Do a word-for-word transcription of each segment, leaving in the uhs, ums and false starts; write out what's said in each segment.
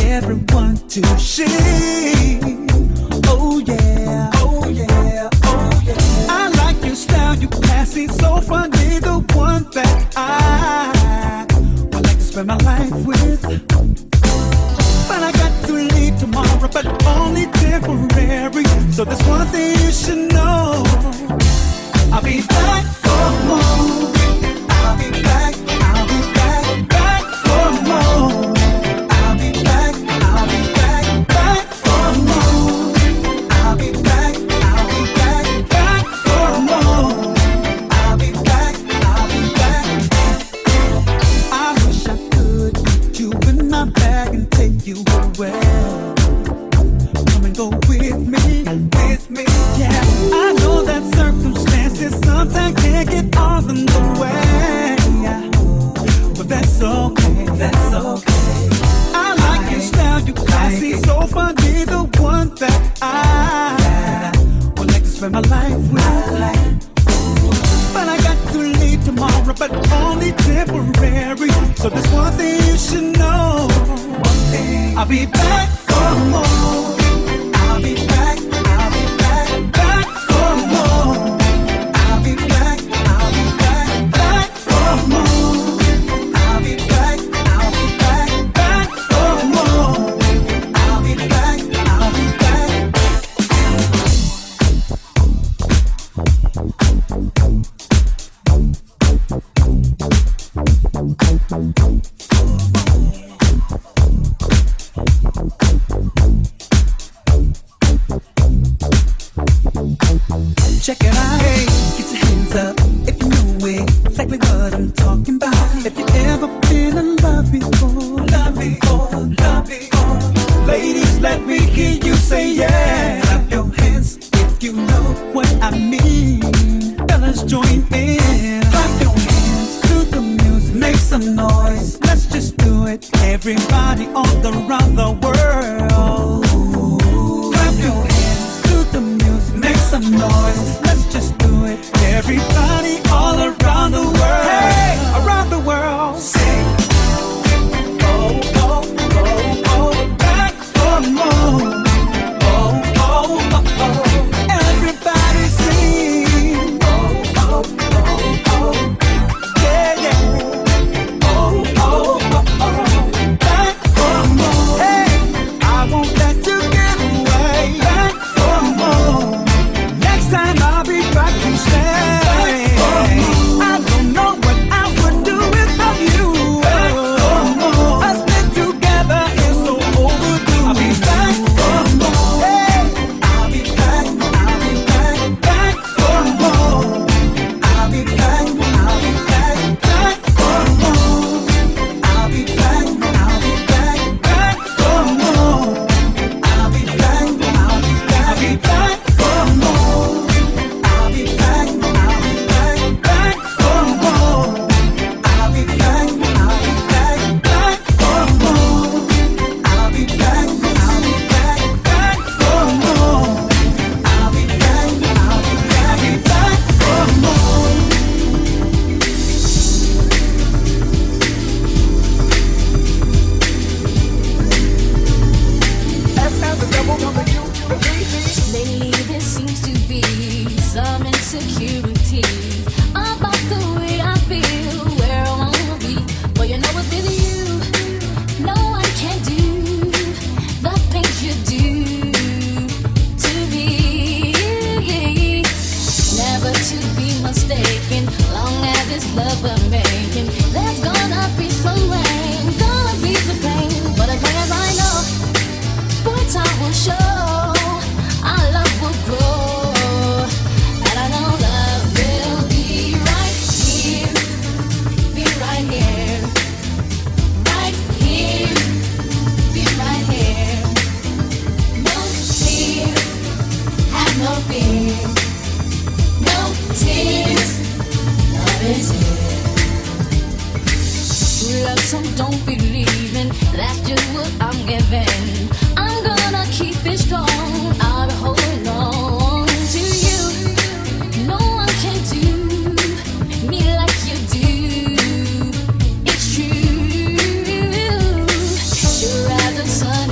everyone to see. Oh yeah, oh yeah, oh yeah. I like your style, you classy, so funny, the one that I would like to spend my life with. But I got to leave tomorrow, but only temporary. So there's one thing you should know. I'll be back for more. I'll be back, I'll be back, back for more. I'll be back, I'll be back, back for more. I'll be back, I'll be back, back for more. I'll be back, I'll be back. I wish I could put you in my bag and take you away. Come and go with me, with me, yeah. I know that circumstances sometimes can't get all in the way, but that's okay, that's okay. I like your style, you classy, so funny, the one that I would like to spend my life with. But I got to leave tomorrow, but only temporary. So there's one thing you should know. One thing, I'll be back for more. I'll be back, I'll be back, back for more. I'll be back, I'll be back, back for more. I'll be back, I'll be back, back for more. I'll be back, I'll be back. Check it out, hey, get your hands up if you know it, exactly what I'm talking about. If you ever been in love before, love before, love before, ladies, let me hear you say yeah. Clap your hands if you know what I mean. Fellas, join in. Clap your hands to the music, make some noise. Let's just do it, everybody all around the world. Clap your hands to the music, make some noise. Let's just do it, everybody all around the world. Hey, around the world. Sing. Oh, oh, oh, oh, back for more. Oh, oh, oh, oh, everybody sing. Oh, oh, oh, oh, yeah, yeah. Oh, oh, oh, oh, back for more. Hey, I won't let you get away. Back for more. Next time I'll be back to stay. I don't know what I would do without you. Us been together is so overdue. I'll be back for more. Hey, I'll be back, I'll be back, back for more. I'll be back, I'll be back, back for more. I'll be back, I'll be back, back for more. I'll be back, I'll be back, I'll be back for more. I'll be back, I'll be back, back for more. I'll be back, I'll be back, back for more. I'll be back, I'll be back, back for more. I'll be back, I'll be back, back for more. Lately there seems to be some insecurity about the way I feel, where I wanna be. But you know what, with you, no one can do the things you do to me. Never to be mistaken, long as it's love we're making. There's gonna be some rain, gonna be some pain, but as long as I know, boy, time will show. Our love will grow, and I know love will be right here, be right here, right here, be right here. No fear, have no fear, no tears, love is here. True love, some don't believe in, that's just what I'm giving. I'm gonna keep it strong, I'll be holding on to you. No one can do me like you do. It's true. Sure as the sun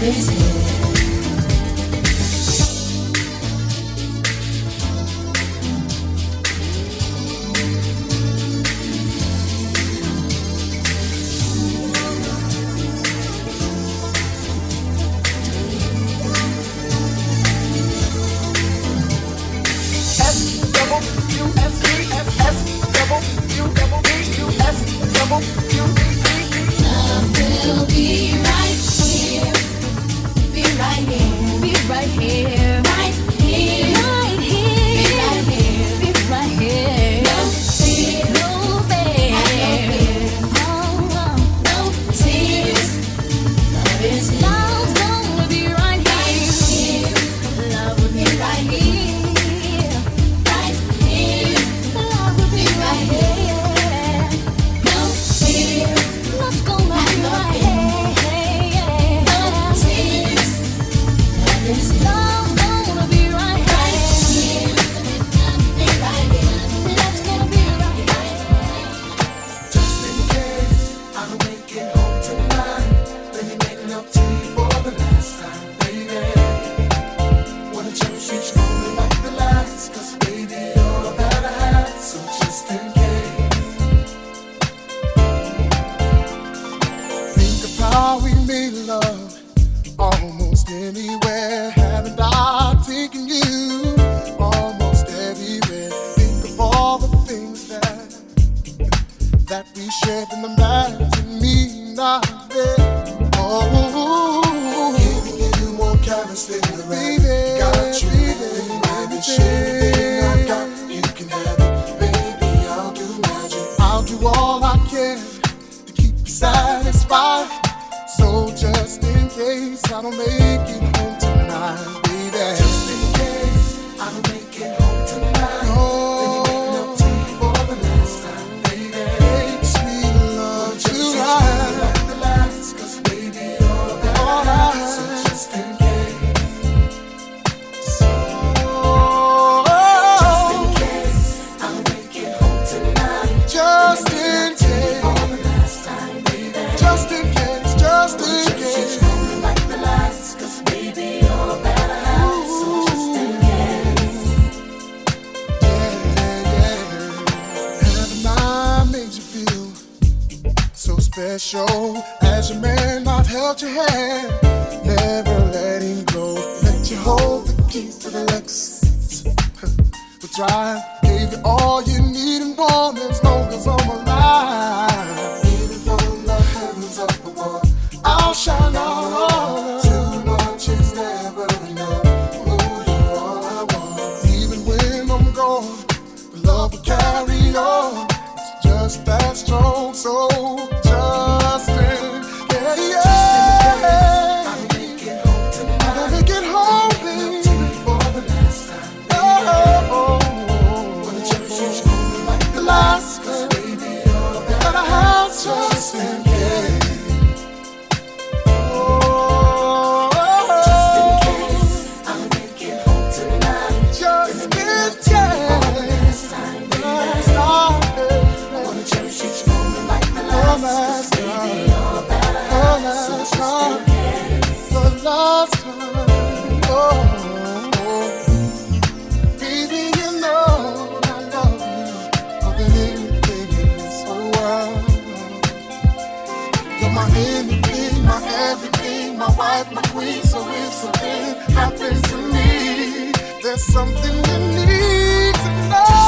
Something you need to know.